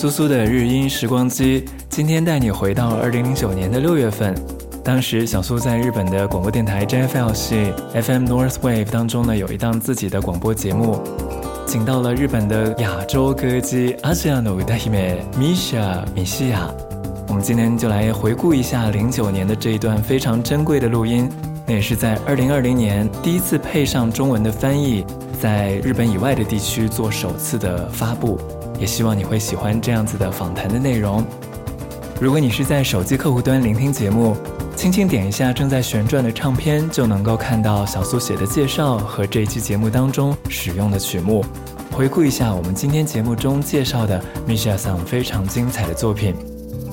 苏苏的日音时光机，今天带你回到2009年的6月份。当时小苏在日本的广播电台 JFL 系 FM North Wave 当中呢，有一档自己的广播节目，请到了日本的亚洲歌姬アジアの歌姫米西亚。我们今天就来回顾一下09年的这一段非常珍贵的录音，那也是在2020年第一次配上中文的翻译，在日本以外的地区做首次的发布，也希望你会喜欢这样子的访谈的内容。如果你是在手机客户端聆听节目，轻轻点一下正在旋转的唱片，就能够看到小苏写的介绍和这一期节目当中使用的曲目。回顾一下我们今天节目中介绍的米西亚さん非常精彩的作品。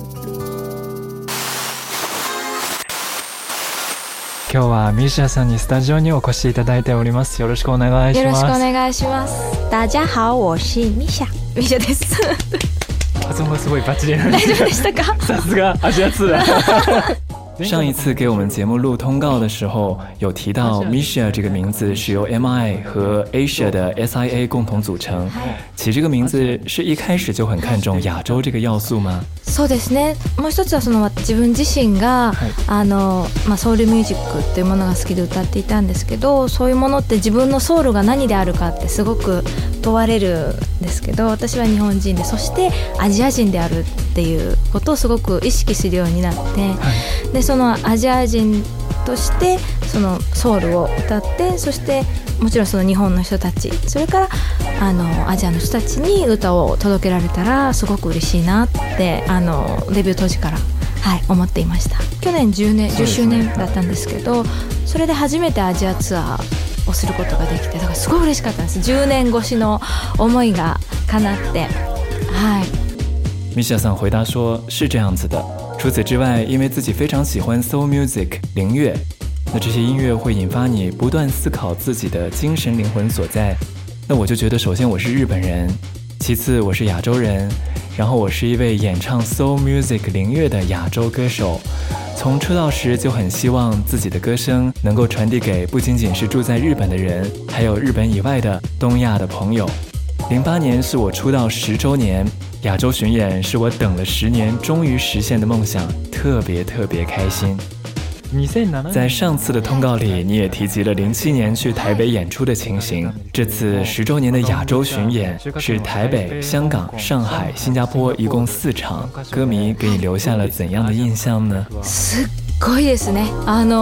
今日はミシャさんにスタジオにお越しいただいております。よろしくお願いします。 よろしくお願いします。大家好，我是ミシャです。 発音がすごいバッチリなん大丈夫でしたか？ さすがアジア通。上一次给我们节目录通告的时候，有提到 Misha 这个名字是由 MI 和 Asia 的 SIA 共同组成。起这个名字是一开始就很看重亚洲这个要素吗？ そうですね。もう一つは自分自身が、ソウルミュージックっていうものが好きで歌っていたんですけど、そういうものって自分のソウルが何であるかってすごく問われるんですけど、私は日本人で、そしてアジア人であるっていうことをすごく意識するようになって、でそのアジア人としてそのソウルを歌って、そしてもちろんその日本の人たち、それからアジアの人たちに歌を届けられたらすごく嬉しいなってデビュー当時から、思っていました。去年10周年だったんですけど、それで初めてアジアツアーをすることができて、だからすごい嬉しかったんです。10年越しの思いが叶って。 米西亚さん回答说是这样子的，除此之外，因为自己非常喜欢 soul music 灵乐，那这些音乐会引发你不断思考自己的精神灵魂所在。那我就觉得，首先我是日本人，其次我是亚洲人，然后我是一位演唱 soul music 灵乐的亚洲歌手。从出道时就很希望自己的歌声能够传递给不仅仅是住在日本的人，还有日本以外的东亚的朋友。08年是我出道10周年，亚洲巡演是我等了10年终于实现的梦想，特别开心。在上次的通告里，你也提及了07年去台北演出的情形。这次10周年的亚洲巡演是台北、香港、上海、新加坡，一共4场，歌迷给你留下了怎样的印象呢？ すっごいですね。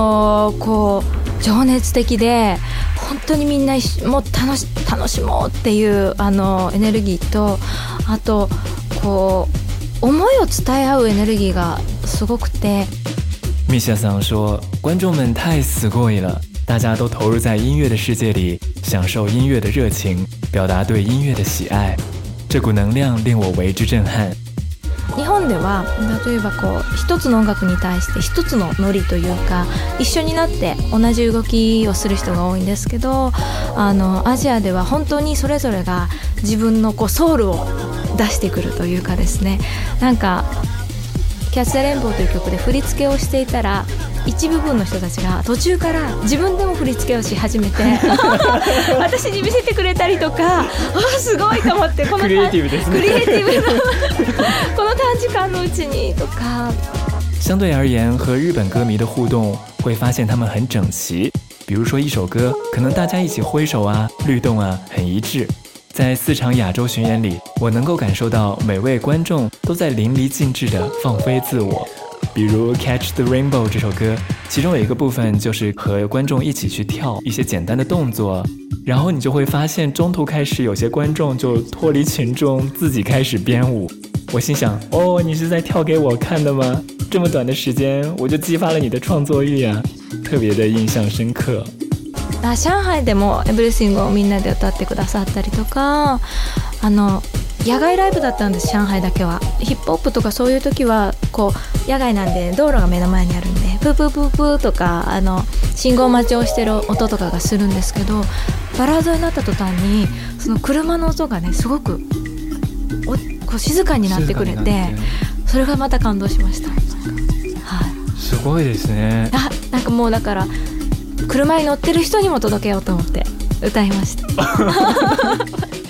情熱的で、本当にみんなもう楽しもうっていうエネルギーと、あと思いを伝え合うエネルギーがすごくて。 米西亚さん说，观众们太すごい了，大家都投入在音乐的世界里，享受音乐的热情，表達对音乐的喜愛，这股能量令我为之震撼。 日本では例えば一つの音楽に対して一つのノリというか、一緒になって同じ動きをする人が多いんですけど、アジアでは本当にそれぞれが自分のソウルを出してくるというかですね、なんかキャッツ・ザ・レインボーという曲で振り付けをしていたら、一部分の人たちが途中から自分でも振り付けをし始めて私に見せてくれたりとか、すごいと思って、このクリエイティブですね。 クリエイティブなこの短時間のうちにとか。 相对而言，和日本歌迷的互动会发现他们很整齐，比如说一首歌，可能大家一起挥手啊、律动啊，很一致。在4场亚洲巡演里，我能够感受到每位观众都在淋漓尽致地放飞自我。比如 Catch the Rainbow 这首歌，其中有一个部分就是和观众一起去跳一些简单的动作，然后你就会发现中途开始有些观众就脱离群众，自己开始编舞。我心想，你是在跳给我看的吗？这么短的时间我就激发了你的创作欲啊，特别的印象深刻。 上海でもエブリシングをみんなで歌ってくださったりとか、野外ライブだったんです。上海だけはヒップホップとかそういう時は野外なんで道路が目の前にあるんで、プープープープーとか信号待ちをしてる音とかがするんですけど、バラードになった途端にその車の音がね、すごく静かになってくれて、それがまた感動しました。 すごいですね。 なんかもうだから車に乗ってる人にも届けようと思って歌いました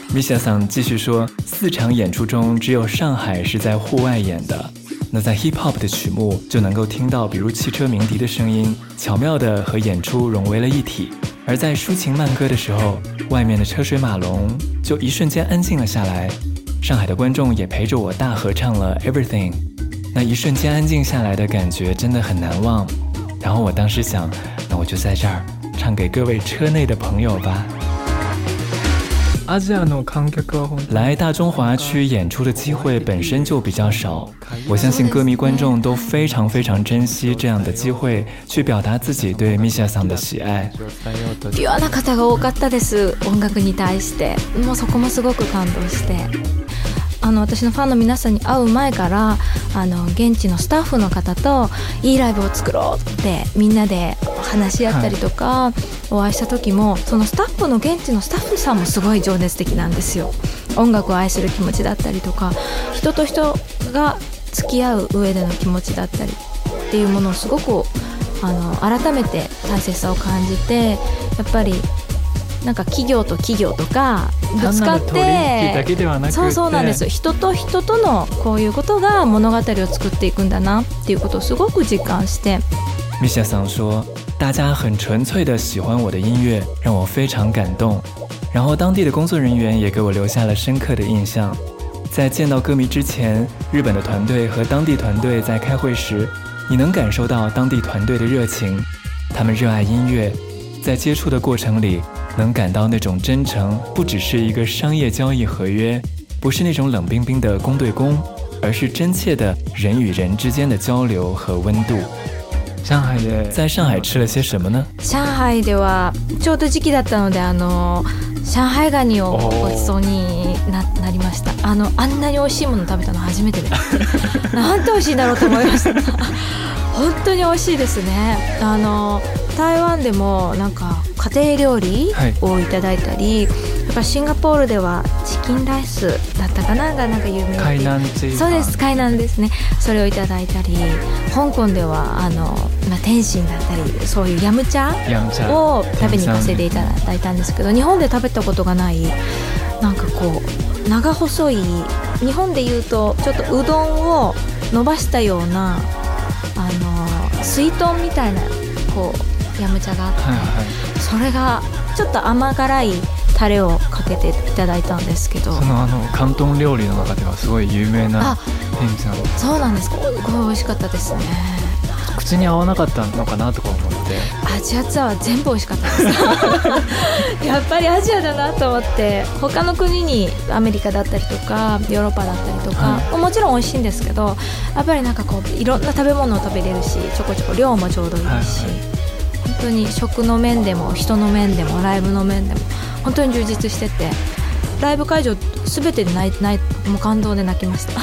米夏桑继续说，4场演出中只有上海是在户外演的。那在 hip hop 的曲目就能够听到比如汽车鸣笛的声音，巧妙地和演出融为了一体。而在抒情慢歌的时候，外面的车水马龙就一瞬间安静了下来，上海的观众也陪着我大合唱了 Everything。 那一瞬间安静下来的感觉真的很难忘。然后我当时想，那我就在这儿唱给各位车内的朋友吧。来大中华区演出的机会本身就比较少，我相信歌迷观众都非常非常珍惜这样的機会去表達自己对ミシャさん的喜愛。 ピュアな方が多かったです。音楽に対してもうそこもすごく感動して、私のファンの皆さんに会う前から現地のスタッフの方といいライブを作ろうってみんなで話し合ったりとか、お会いした時もそのスタッフの現地のスタッフさんもすごい情熱的なんですよ。音楽を愛する気持ちだったりとか、人と人が付き合う上での気持ちだったりっていうものをすごく改めて大切さを感じて、やっぱりなんか企業と企業とかぶつかって、そうなんです。人と人とのこういうことが物語を作っていくんだなっていうことをすごく実感して。 米夏さん说，大家很纯粹的喜欢我的音乐，让我非常感动。然后当地的工作人员也给我留下了深刻的印象。在见到歌迷之前，日本的团队和当地团队在开会时，你能感受到当地团队的热情，他们热爱音乐，在接触的过程里能感到那种真诚，不只是一个商业交易合约，不是那种冷冰冰的公对公，而是真切的人与人之间的交流和温度。在上海吃了些什么呢？ 上海ではちょうど時期だったので上海ガニをごちそうに なりました。あんなに美味しいもの食べたの初めてでなんて美味しいんだろうと思いました本当に美味しいですね。台湾でもなんか家庭料理をいただいたり、やっぱシンガポールではチキンライスだったかながなんか有名で、 海南っていうか、 そうです、海南ですね。それをいただいたり、香港では天津だったり、そういうヤムチャを食べに行かせていただいたんですけど、日本で食べたことがないなんかこう長細い、日本でいうとちょっとうどんを伸ばしたような水豚みたいなこうヤムチャがあって、それがちょっと甘辛いタレをかけていただいたんですけど、 その広東料理の中ではすごい有名な天津さん。 そうなんです。すごい美味しかったですね。 口に合わなかったのかなとか思って。 アジアツアーは全部美味しかったですやっぱりアジアだなと思って、他の国にアメリカだったりとかヨーロッパだったりとか、もちろん美味しいんですけど、やっぱりなんかこういろんな食べ物を食べれるし、ちょこちょこ量もちょうどいいし、本当に食の面でも人の面でもライブの面でも本当に充実してて、ライブ会場全てでもう感動で泣きました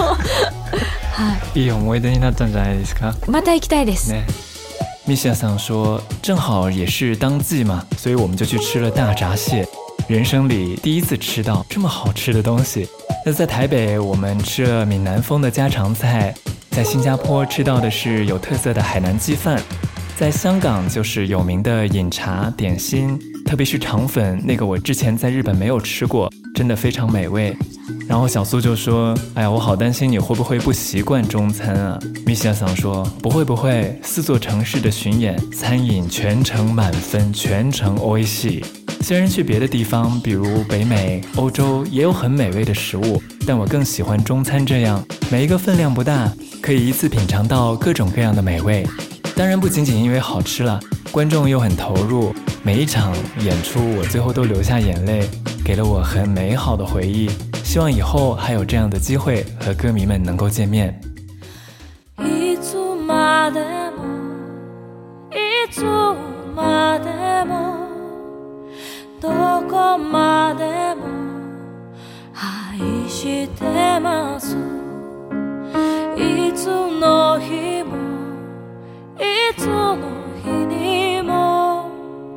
いい思い出になったんじゃないですか。 また行きたいですね。 米夏さん说，正好也是当季嘛，所以我们就去吃了大闸蟹，人生里第一次吃到这么好吃的东西。那在台北我们吃了闽南风的家常菜，在新加坡吃到的是有特色的海南鸡饭，在香港就是有名的饮茶点心，特别是肠粉，那个我之前在日本没有吃过，真的非常美味。然后小苏就说，哎呀，我好担心你会不会不习惯中餐啊。米夏桑说，不会不会，4座城市的巡演，餐饮全程满分，全程美味しい。虽然去别的地方，比如北美、欧洲也有很美味的食物，但我更喜欢中餐这样，每一个分量不大，可以一次品尝到各种各样的美味。当然不仅仅因为好吃了，观众又很投入，每一场演出我最后都流下眼泪，给了我很美好的回忆。希望以后还有这样的机会和歌迷们能够见面。 いつまでもいつまでもどこまでも愛してますいつの日もいつの日にも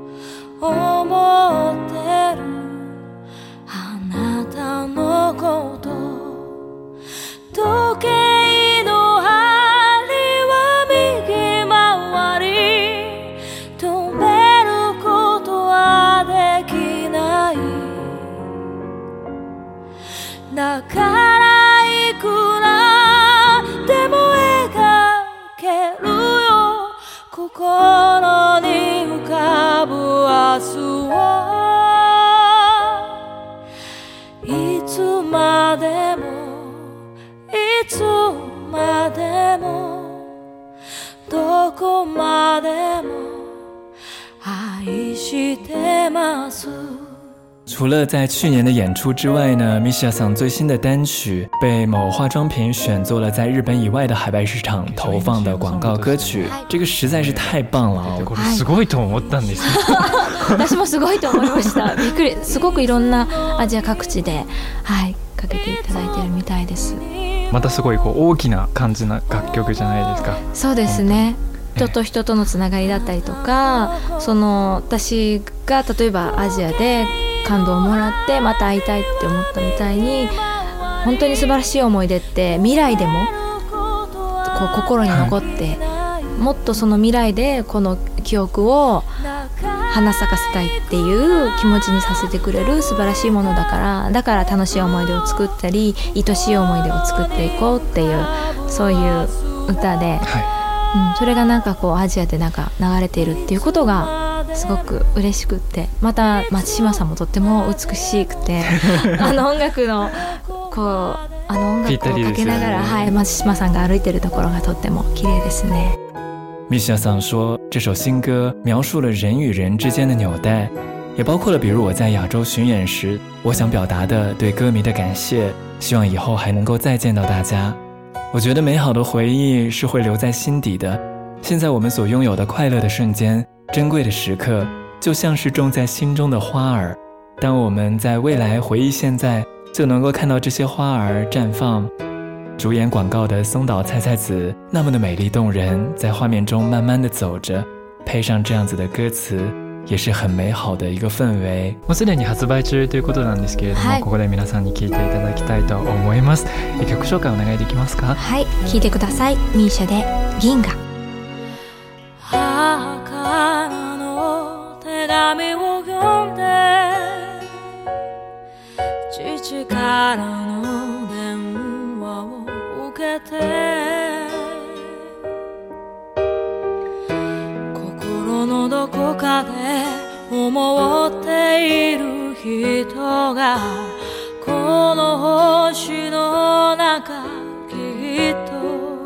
思ってるあなたのこと時計の針は右回り止めることはできないだからいくらでも描けるよ心に浮かぶ明日はいつまでもいつまでもどこまでも愛してます除了在去年的演出之外呢 Misha 桑最新的单曲被某化妆品选做了在日本以外的海外市场投放的广告歌曲，这个实在是太棒了これすごいと思ったんです私もすごいと思いましたびっくりすごくいろんなアジア各地で、はい、かけていただいているみたいですまたすごい大きな感じな楽曲じゃないですかそうですね人と人とのつながりだったりとか私が例えばアジアで感動をもらってまた会いたいって思ったみたいに本当に素晴らしい思い出って未来でも心に残って、もっとその未来でこの記憶を花咲かせたいっていう気持ちにさせてくれる素晴らしいものだから楽しい思い出を作ったり愛しい思い出を作っていこうっていうそういう歌で、それがなんかアジアでなんか流れているっていうことがすごく嬉しくってまた松島さんもとっても美しくて音楽の音楽をかけながら、はい、松島さんが歩いてるところがとっても綺麗ですね。 Misha 桑说，这首新歌描述了人与人之间的纽带，也包括了比如我在亚洲巡演时，我想表达的对歌迷的感谢，希望以后还能够再见到大家。我觉得美好的回忆是会留在心底的，现在我们所拥有的快乐的瞬间，珍贵的时刻，就像是种在心中的花儿，当我们在未来回忆现在，就能够看到这些花儿绽放。主演广告的松岛菜菜子那么的美丽动人，在画面中慢慢的走着，配上这样子的歌词，也是很美好的一个氛围。 もうすでに発売中ということなんですけれども、ここで皆さんに聴いていただきたいと思います。曲紹介お願いできますか？ はい、聴いてください。Mishaで銀河。 母からの手紙を読んで父からの電話を受けて心のどこかで思っている人がこの星の中きっと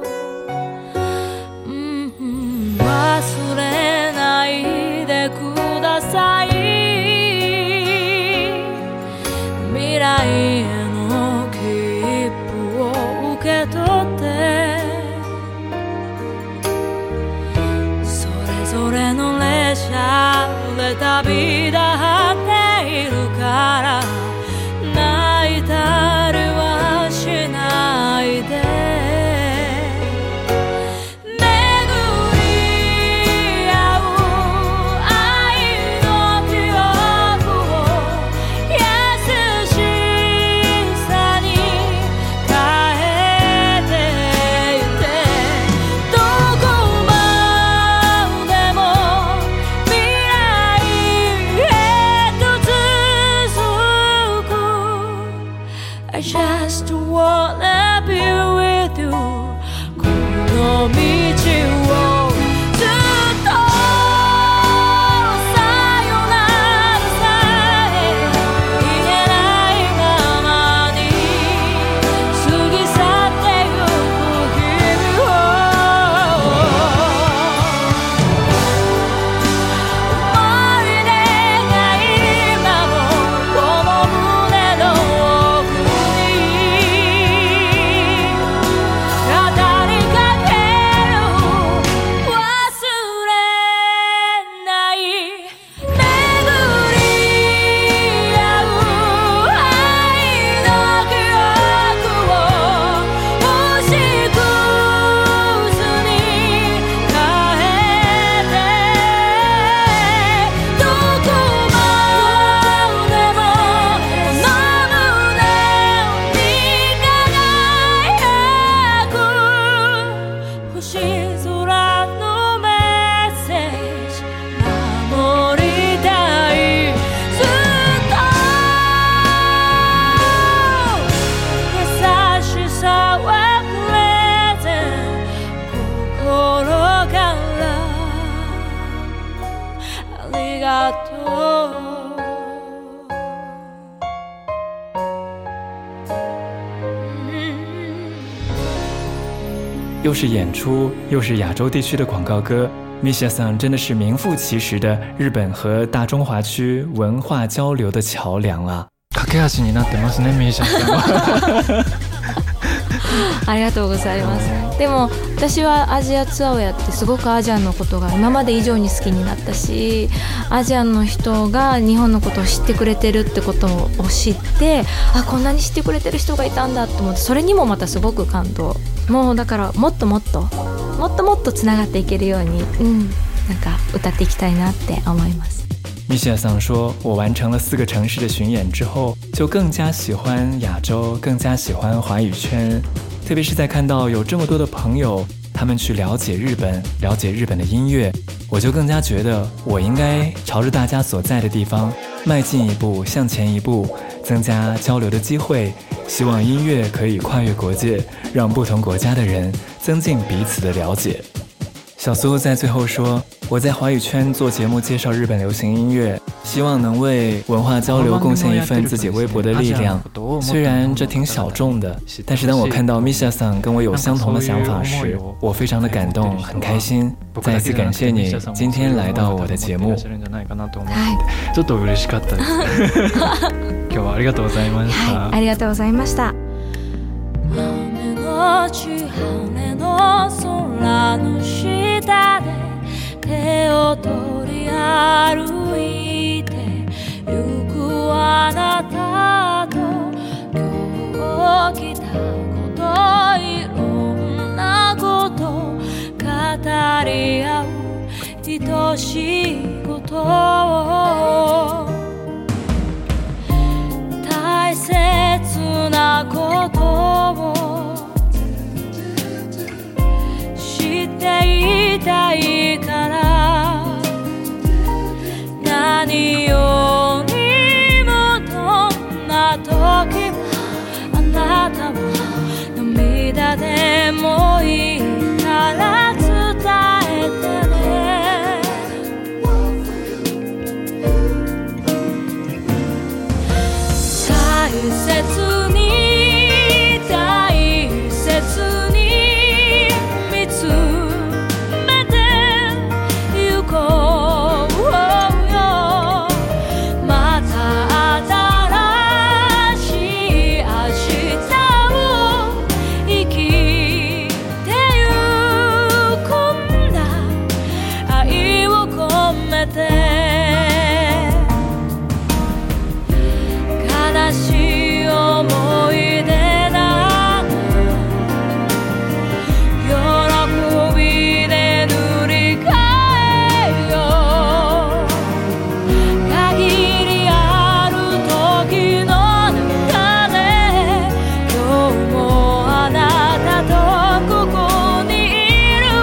忘れないでください未来への切符を受け取ってそれぞれの列車で旅立っているから泣いたりはしないでI just wanna be with you この道をずっとさよならさえ言えないままに過ぎ去ってゆく日々を思い出が今もこの胸の語りかける又是演出，又是亚洲地区的广告歌。Mishaさん真的是名副其实的日本和大中华区文化交流的桥梁啊！ 架け橋になってますね、Mishaさんは。 ありがとうございます。でも私はアジアツアーをやってすごくアジアのことが今まで以上に好きになったし、アジアの人が日本のことを知ってくれてるってことを知って、こんなに知ってくれてる人がいたんだと思って、それにもまたすごく感動。もうだからもっともっとつながっていけるように、なんか歌っていきたいなって思います。 Mishaさん说，我完成了4个城市的巡演之后，就更加喜欢亚洲，更加喜欢华语圈。特别是在看到有这么多的朋友，他们去了解日本，了解日本的音乐，我就更加觉得我应该朝着大家所在的地方迈进一步，向前一步，增加交流的机会。希望音乐可以跨越国界，让不同国家的人增进彼此的了解。小苏在最后说，我在华语圈做节目介绍日本流行音乐，希望能为文化交流贡献一份自己微薄的力量。虽然这挺小众的，但是当我看到 Mishaさん跟我有相同的想法时，我非常的感动，很开心。再一次感谢你今天来到我的节目。 ちょっと嬉しかったです。今日はありがとうございました。 ありがとうございました。 雨のち晴れの空の下で手を取り歩いてゆくあなたと今日来たこといろんなこと語り合う愛しいことを大切なことを知っていたいから何よりもどんな時もあなたは涙でもいいから伝えてね大切に大切に見つめてゆこうよまた新しい明日を生きてゆくんだ愛を込めて悲しい思い出など喜びで塗り替えよう限りある時の中で今日もあなたとここにいる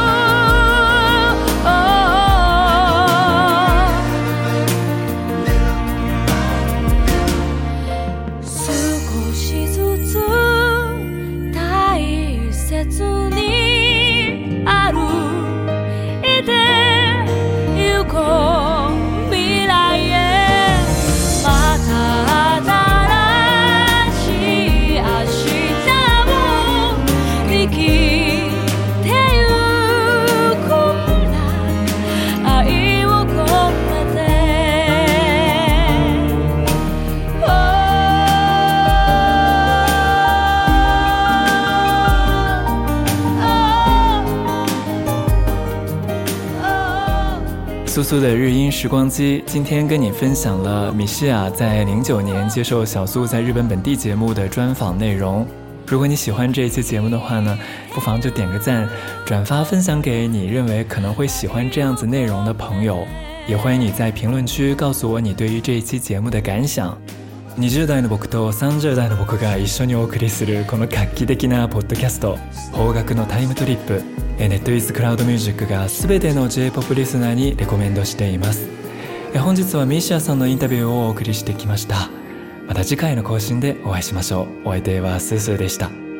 少しずつ大切に歩いてゆこう未来へまた新しい明日を生きてゆくんだ愛を込めて苏苏的日音时光机，今天跟你分享了米西亚在09年接受小苏在日本本地节目的专访内容。如果你喜欢这一期节目的话呢，不妨就点个赞，转发分享给你认为可能会喜欢这样子内容的朋友。也欢迎你在评论区告诉我你对于这一期節目的感想。20代の僕と30代の僕が一緒にお送りするこの画期的なポッドキャスト邦楽のタイムトリップ、ネットイズクラウドミュージックが全ての J-POP リスナーにレコメンドしています。本日はミシアさんのインタビューをお送りしてきました。また次回の更新でお会いしましょう。お相手はスースーでした。